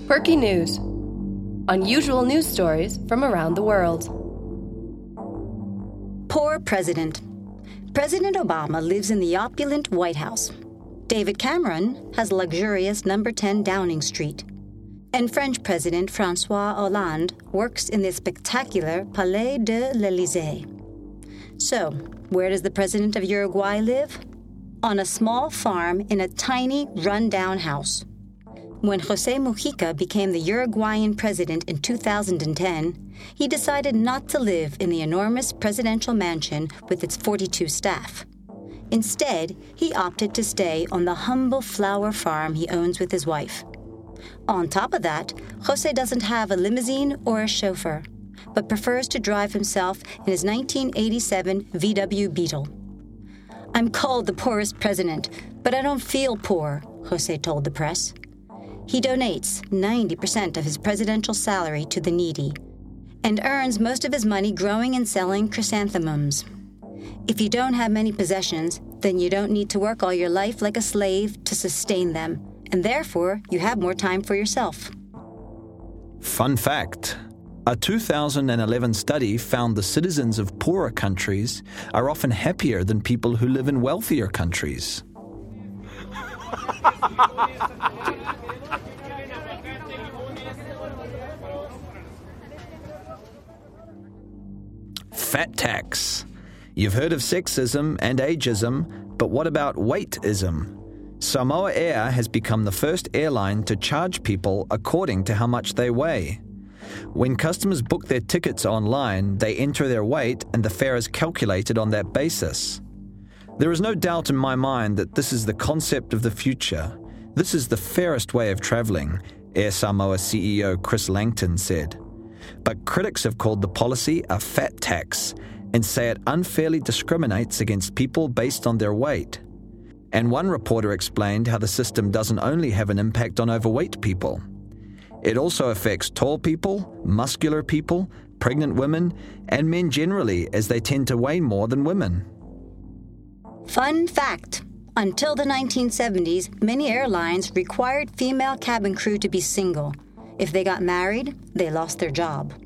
Perky News. Unusual news stories from around the world. Poor president. President Obama lives in the opulent White House. David Cameron has luxurious number 10 Downing Street. And French President François Hollande works in the spectacular Palais de l'Élysée. So, where does the president of Uruguay live? On a small farm in a tiny, run-down house. When José Mujica became the Uruguayan president in 2010, he decided not to live in the enormous presidential mansion with its 42 staff. Instead, he opted to stay on the humble flower farm he owns with his wife. On top of that, José doesn't have a limousine or a chauffeur, but prefers to drive himself in his 1987 VW Beetle. "I'm called the poorest president, but I don't feel poor," José told the press. He donates 90% of his presidential salary to the needy and earns most of his money growing and selling chrysanthemums. If you don't have many possessions, then you don't need to work all your life like a slave to sustain them, and therefore you have more time for yourself. Fun fact: a 2011 study found the citizens of poorer countries are often happier than people who live in wealthier countries. Fat tax. You've heard of sexism and ageism, but what about weightism? Samoa Air has become the first airline to charge people according to how much they weigh. When customers book their tickets online, they enter their weight and the fare is calculated on that basis. There is no doubt in my mind that this is the concept of the future. This is the fairest way of travelling, Air Samoa CEO Chris Langton said. But critics have called the policy a fat tax and say it unfairly discriminates against people based on their weight. And one reporter explained how the system doesn't only have an impact on overweight people. It also affects tall people, muscular people, pregnant women, and men generally, as they tend to weigh more than women. Fun fact: until the 1970s, many airlines required female cabin crew to be single. If they got married, they lost their job.